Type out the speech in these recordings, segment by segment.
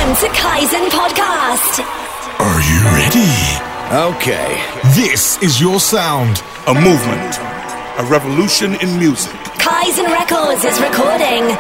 to Kaizen Podcast. Are you ready? Okay. This is your sound. A movement. A revolution in music. Kaizen Records is recording.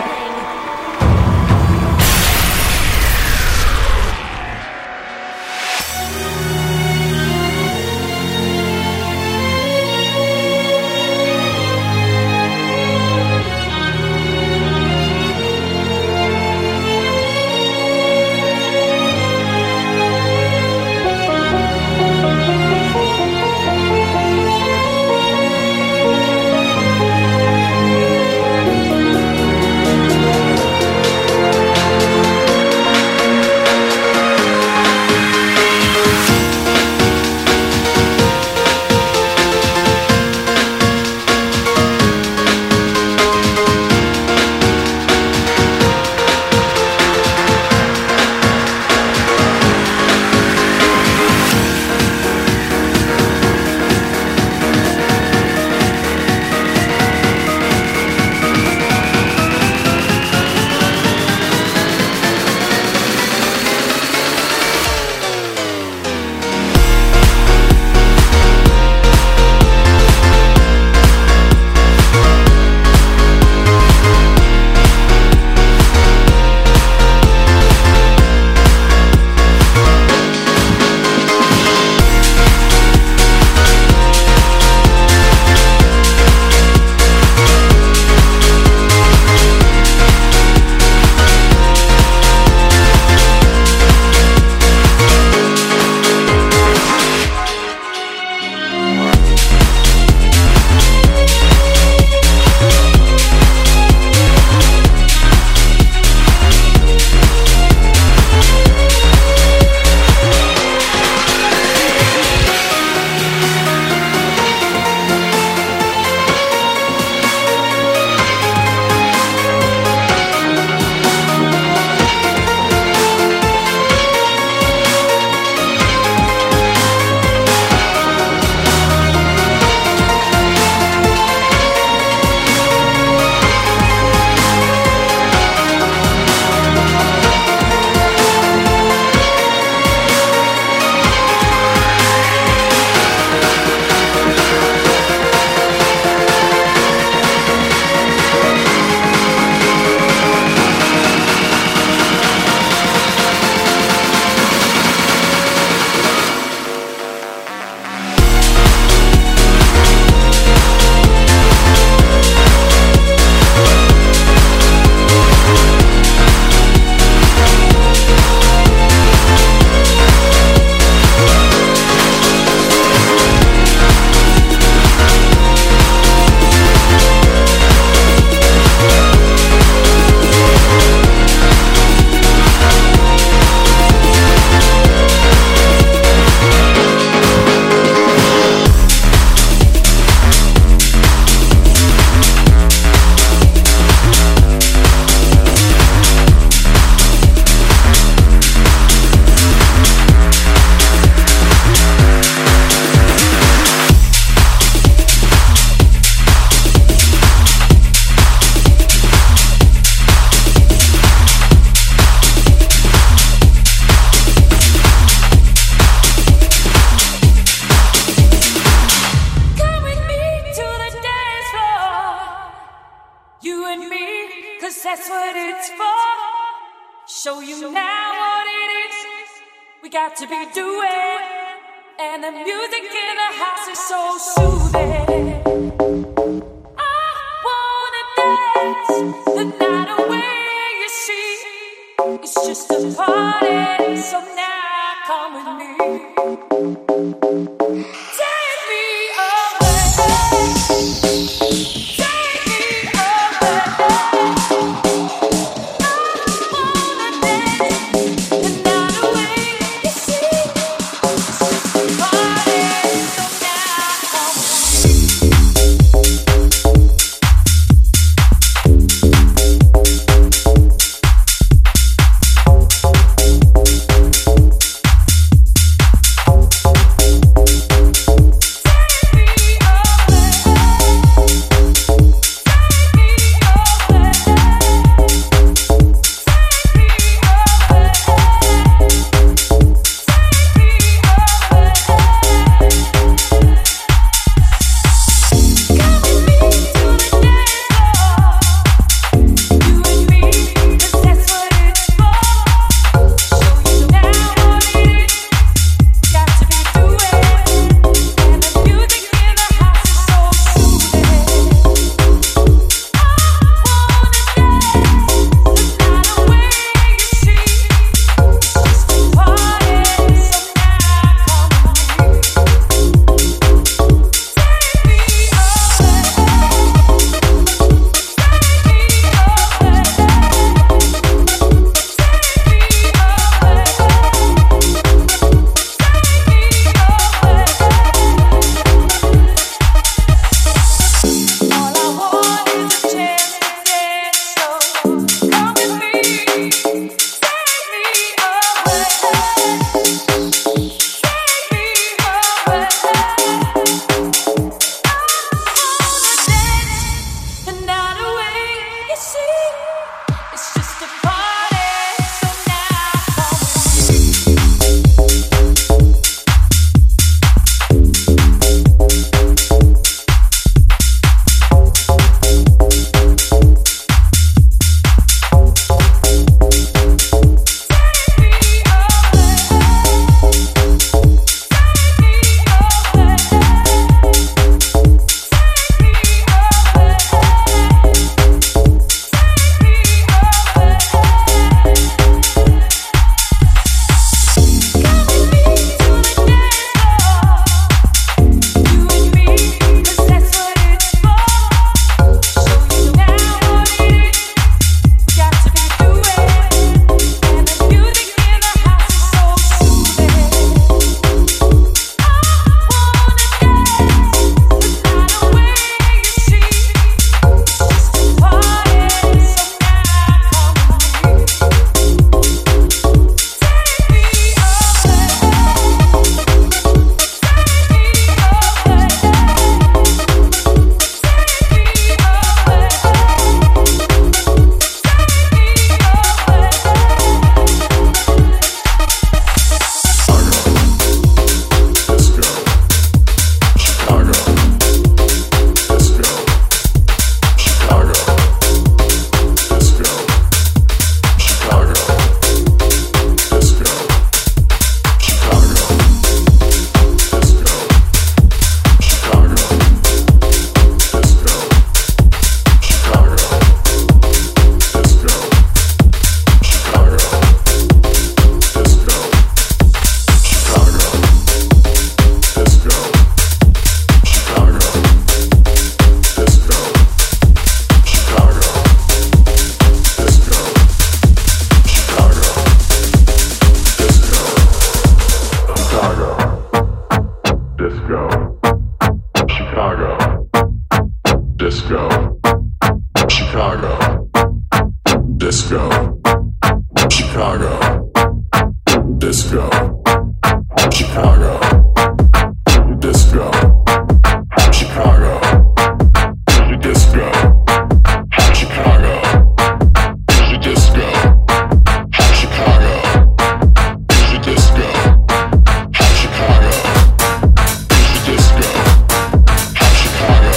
disco. Chicago. Disco. Chicago. Disco. Chicago. Disco. Chicago. Disco. Chicago. Disco. Chicago. Disco. Chicago.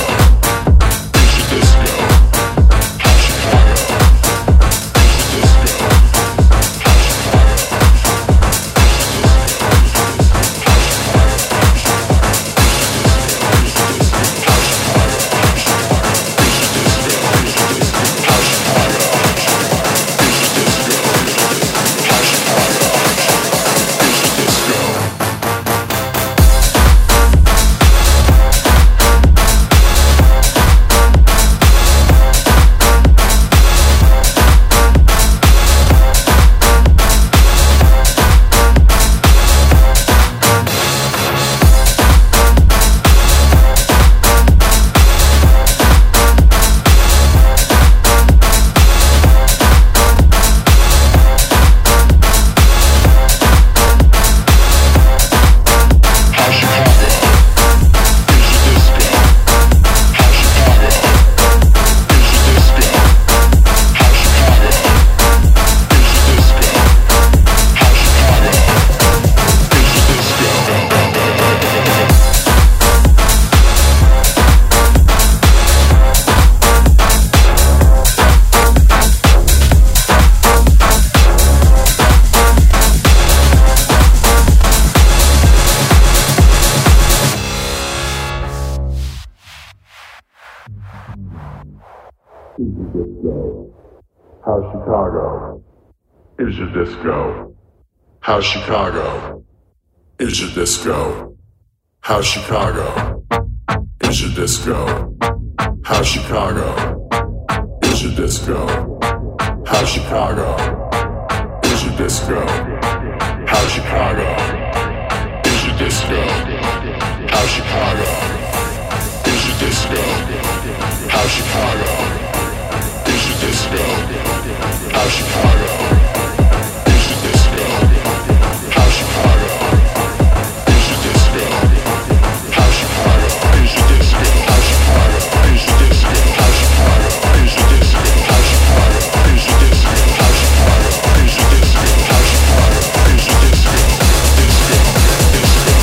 How Chicago is your disco? How Chicago is your disco? How Chicago is your disco? How Chicago is your disco? How Chicago is your disco? How Chicago is your disco? How Chicago is your disco? How Chicago is your disco? How Chicago is your disco? How Chicago is your disco? How Chicago is your disco? How Chicago is your disco? How Chicago is your disco? How Chicago is your disco? How Chicago is your disco? How Chicago is your disco? Disco, disco.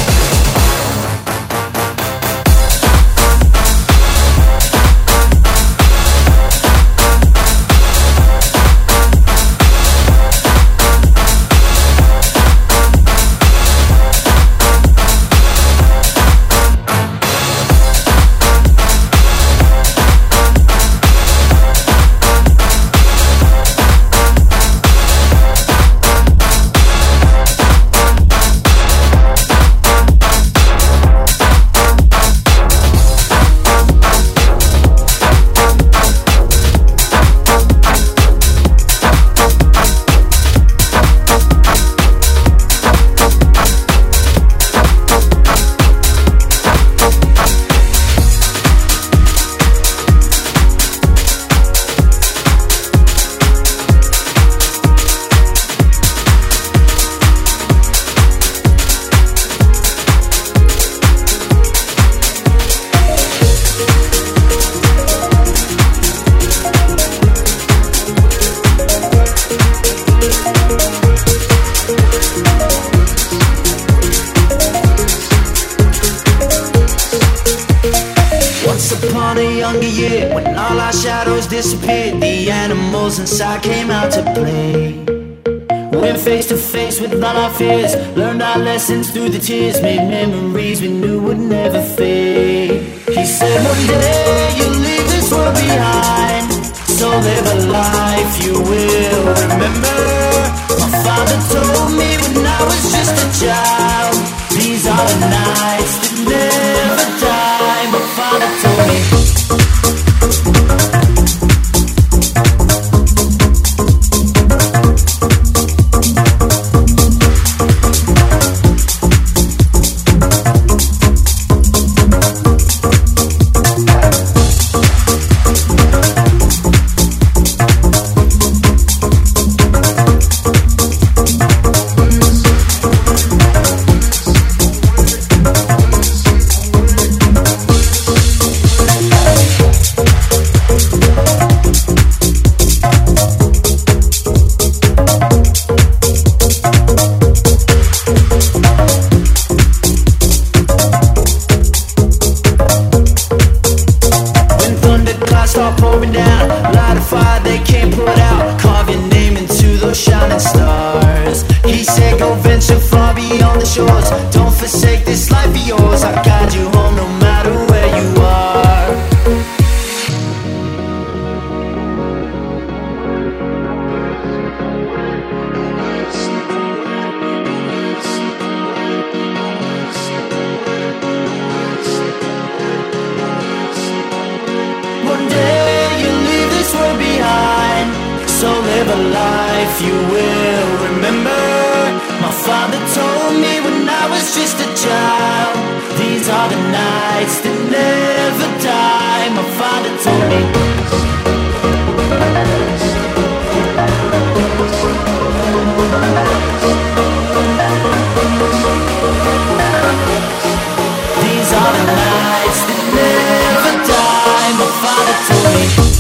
Disappeared, the animals inside came out to play. Went face to face with all our fears, learned our lessons through the tears, made memories we knew would never fade. He said one day you'll leave this world behind, so live a life you will remember. My father told me when I was just a child, these are the nights that never die. My father told me shores. Don't forsake this life of yours. I'll guide you home no matter where you are. One day you'll leave this world behind, so live a life you will remember. My father told me when I was just a child, these are the nights that never die. My father told me. These are the nights that never die. My father told me.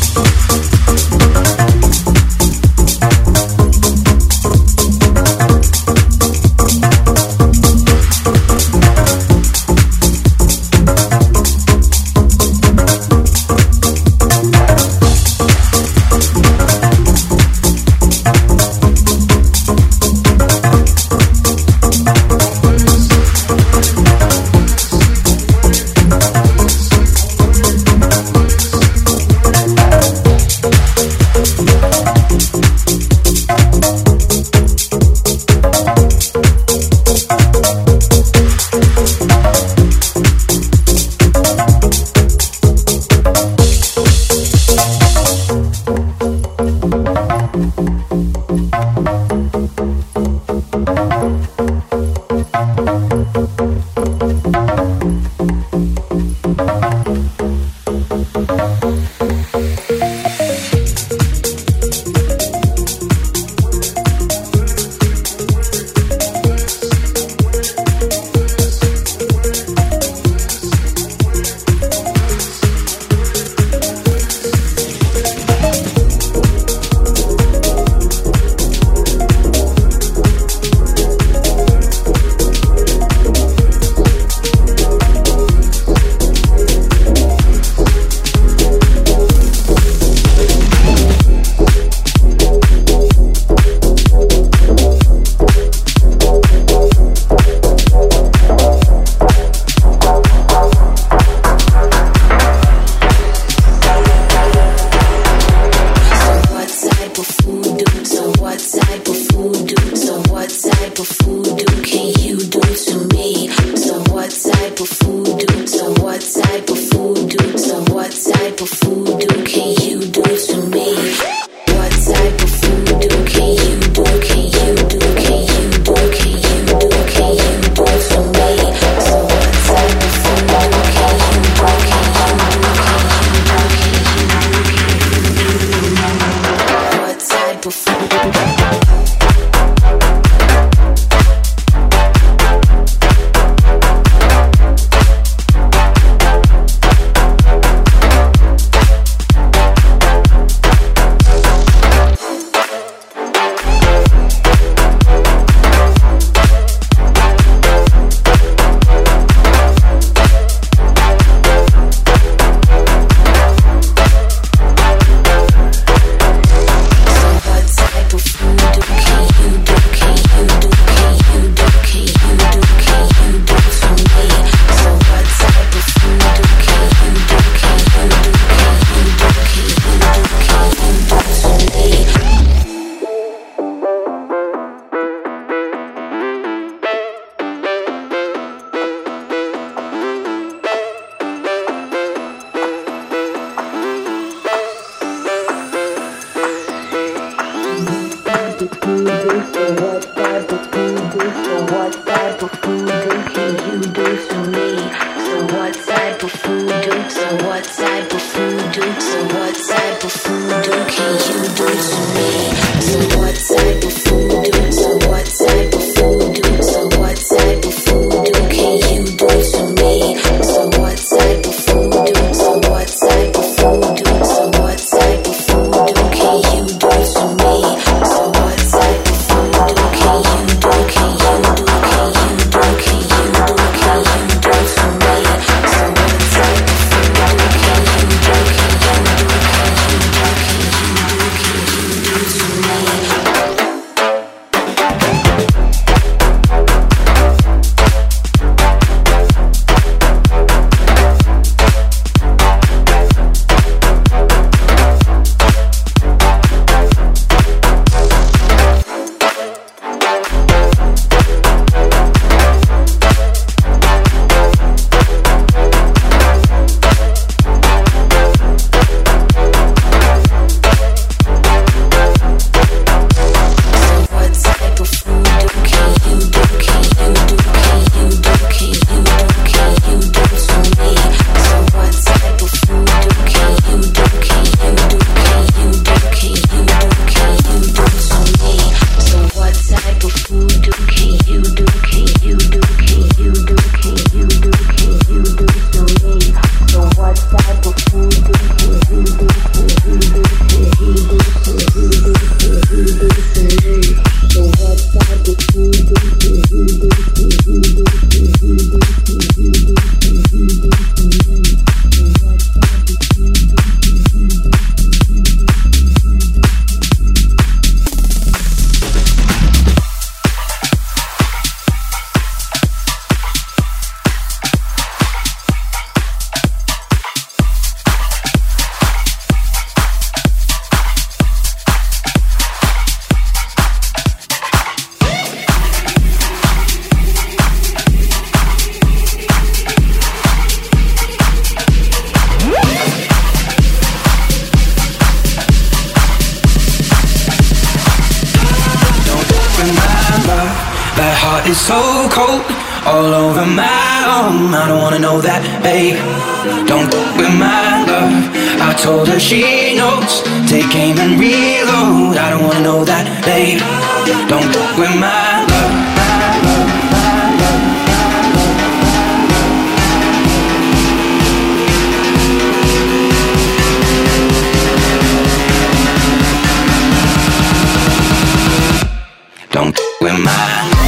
That heart is so cold, all over my arm. I don't wanna know that, babe. Don't fuck with my love. I told her she knows. Take aim and reload. I don't wanna know that, babe. Don't fuck with my love. Don't fuck with my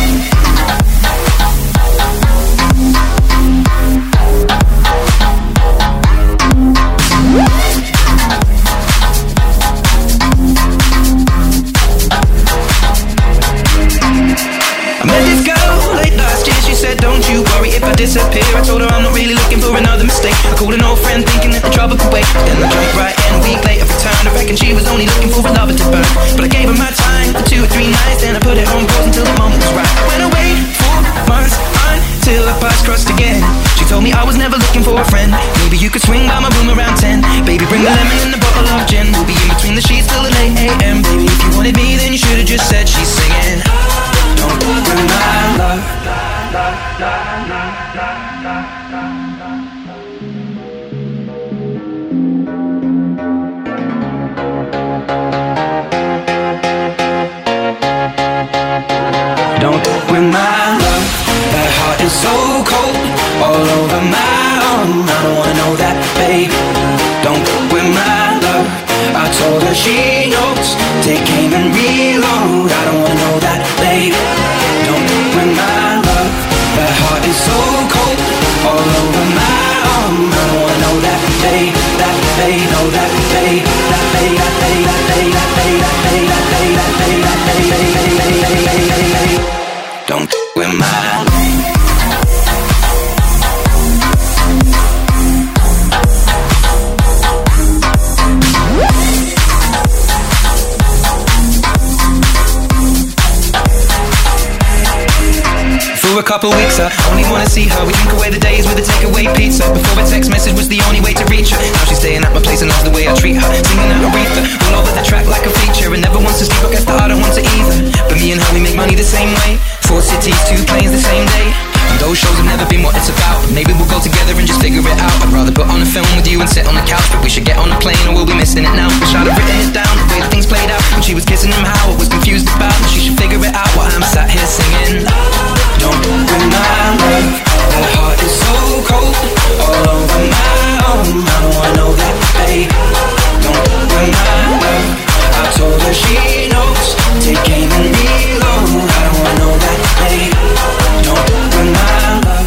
disappear. I told her I'm not really looking for another mistake. I called an old friend thinking that the trouble could wait. Then I drank right and a week later returned. I reckon she was only looking for a lover to burn. But I gave her my time for 2 or 3 nights. Then I put it on pause until the moment was right. I went away 4 months until our paths crossed again. She told me I was never looking for a friend. Maybe you could swing by my room around 10. Baby, bring the lemon and a bottle of gin. We'll be in between the sheets till the late AM. Baby, if you wanted me, then you should've just said she's singing. Don't fuck with my love. Don't fuck with my love. That heart is so cold, all over my arm. I don't wanna know that, babe. Don't fuck with my love. I told her she knows. Take aim and reload. I don't wanna know that, babe. Don't fuck with my love. That heart is so cold, all over my arm. I don't wanna know that, babe. That babe, know that babe. That babe, that babe, that babe, that babe, that babe, that babe, that babe, that babe. Don't fuck with my For a couple weeks, I only wanna see her. We drink away the days with a takeaway pizza. Before a text message was the only way to reach her. Now she's staying at my place and loves the way I treat her. Singing out Aretha, all over the track like a feature. And never wants to sleep, I guess that I don't want to either. But me and her, we make money the same way. 4 cities, 2 planes the same day. And those shows have never been what it's about. Maybe we'll go together and just figure it out. I'd rather put on a film with you and sit on the couch. But we should get on a plane or we'll be missing it now. Wish I'd have written it down, the way that things played out. When she was kissing him, how I was confused about. But she should figure it out while I'm sat here singing. Don't fuck with my love. That heart is so cold, all over my arm. I don't wanna know that, babe. Don't fuck with my love. I told her she knows. Take aim and reload. I don't wanna know that, babe. Don't fuck with my love.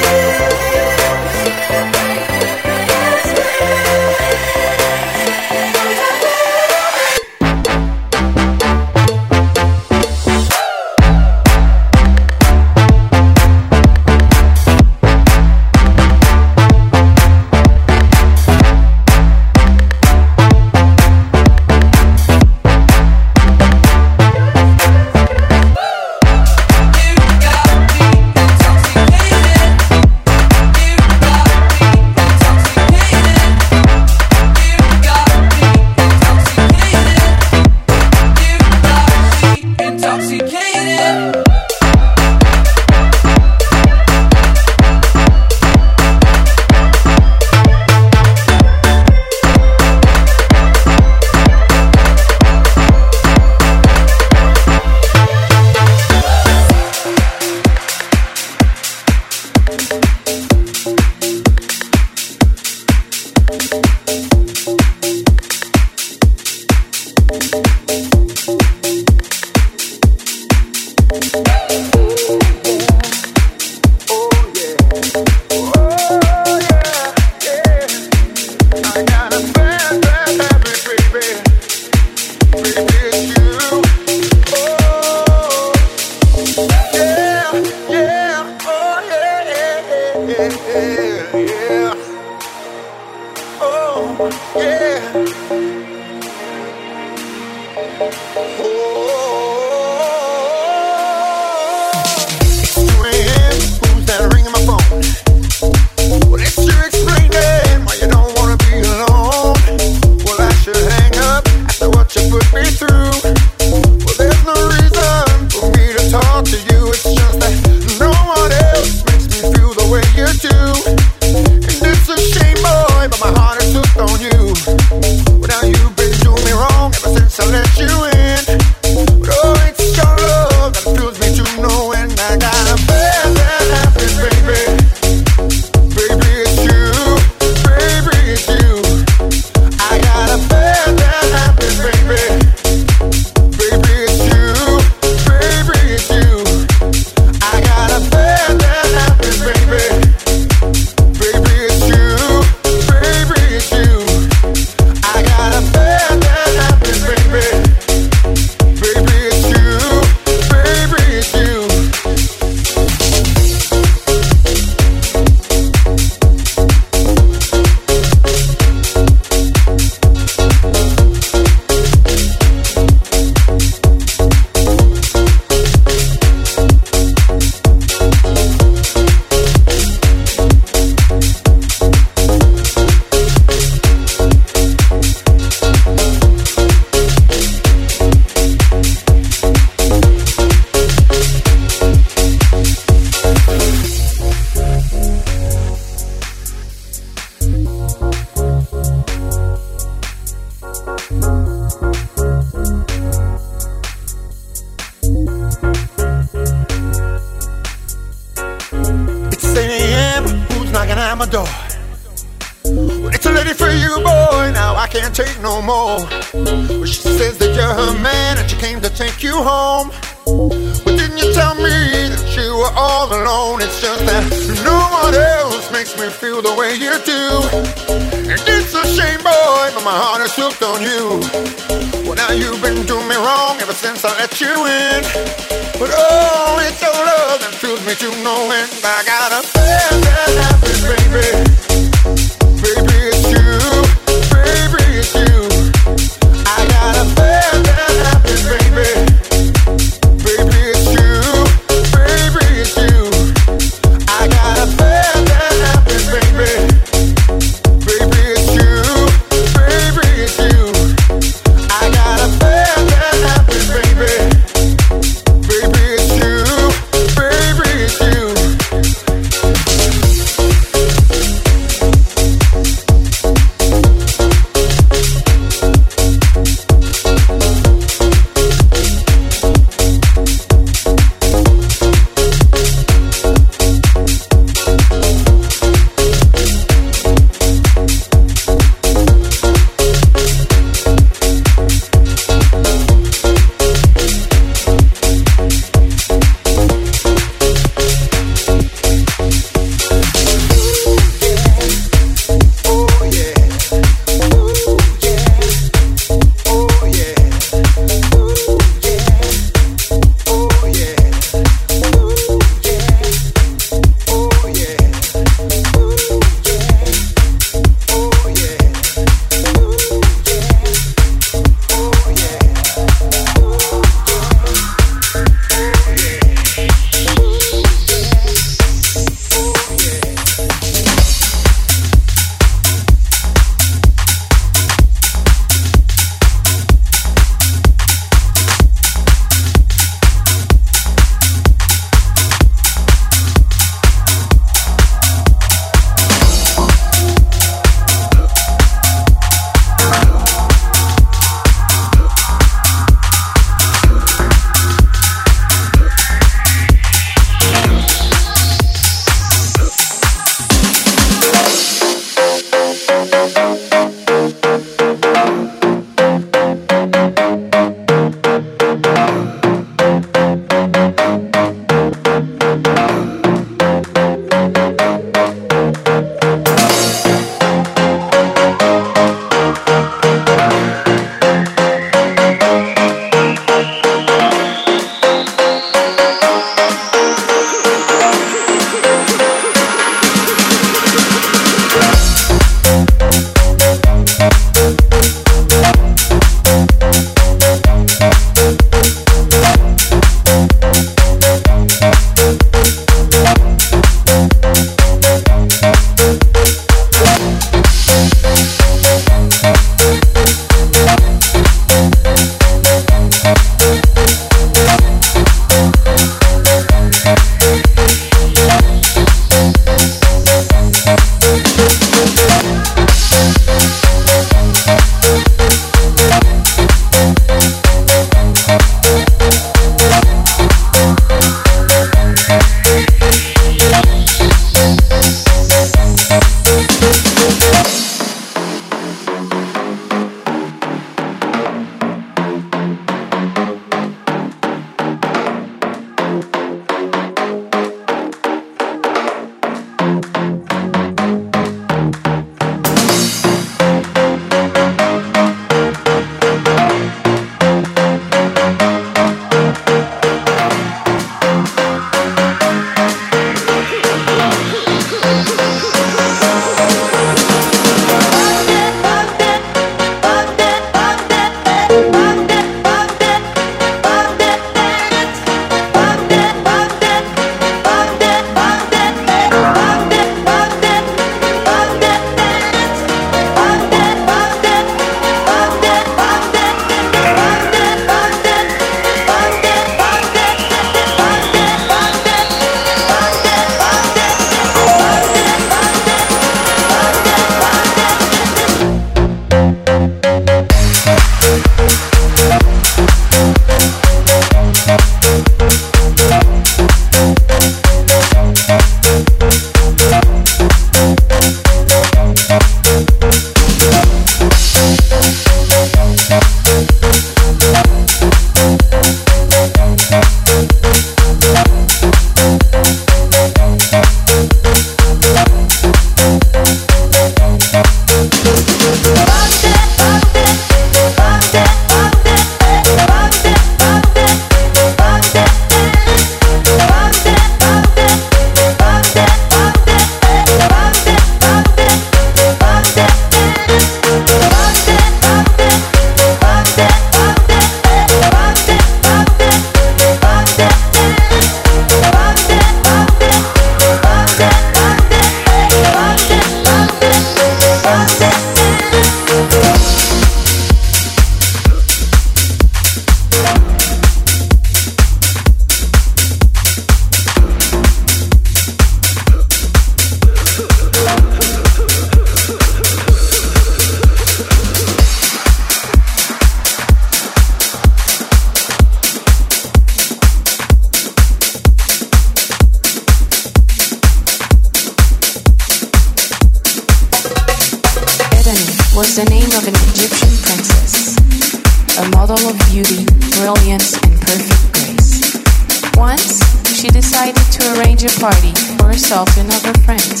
a model of beauty, brilliance, and perfect grace. Once, she decided to arrange a party for herself and other friends.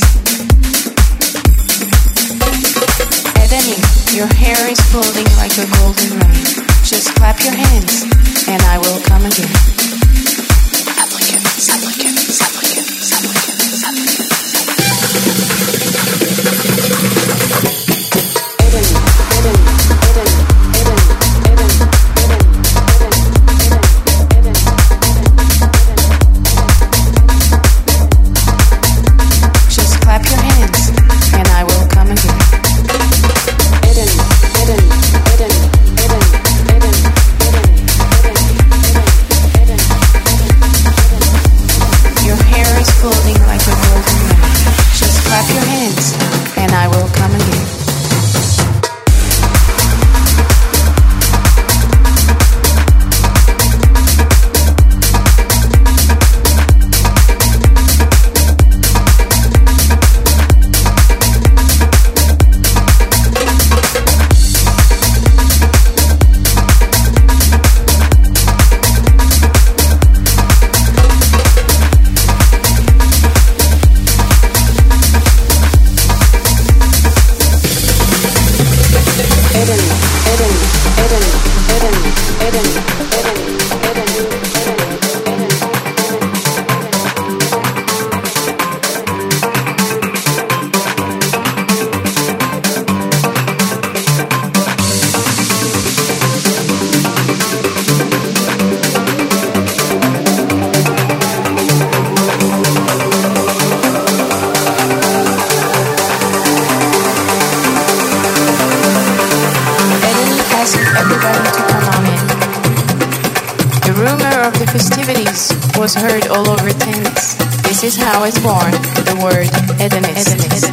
Edeni, your hair is floating like a golden rain. Just clap your hands, and I will come again. Supplicant, supplicant, supplicant, supplicant, supplicant. Was heard all over Tennis. This is how is born the word hedonist.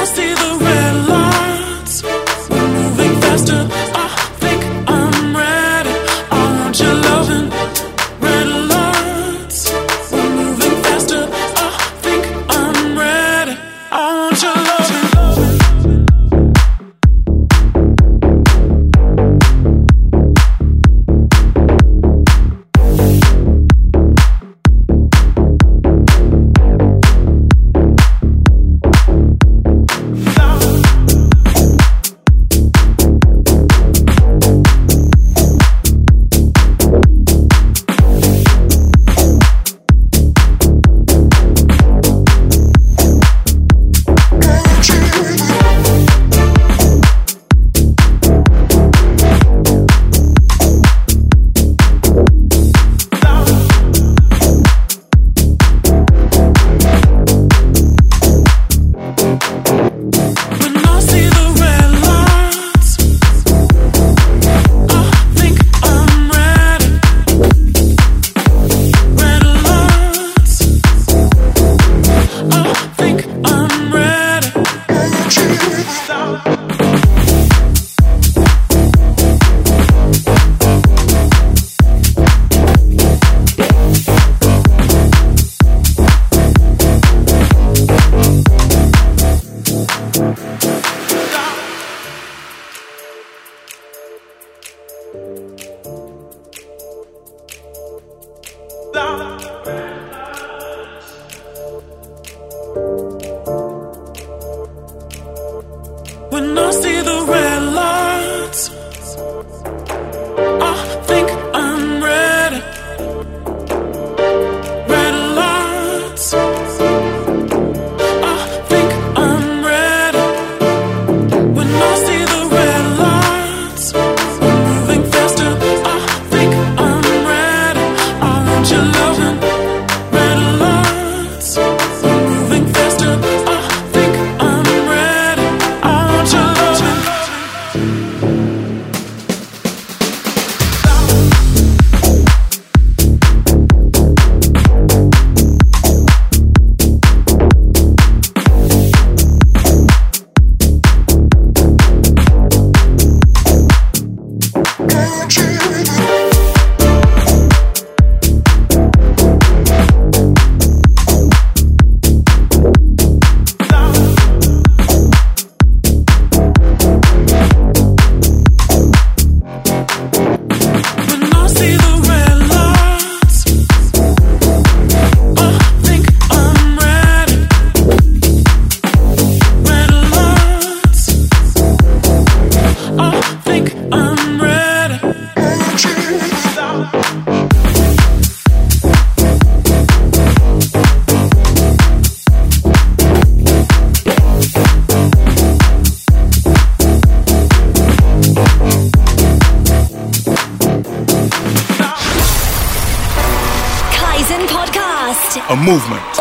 When I see the red lights, I think I'm ready. Red lights, I think I'm ready. When I see the red lights, I'm moving faster. I think I'm ready. I want your loving. Red lights, I'm moving faster. I think I'm ready. I want your loving. When I see the red lights, I think I'm ready. Red lights, I think I'm ready. Kaizen Podcast. A movement.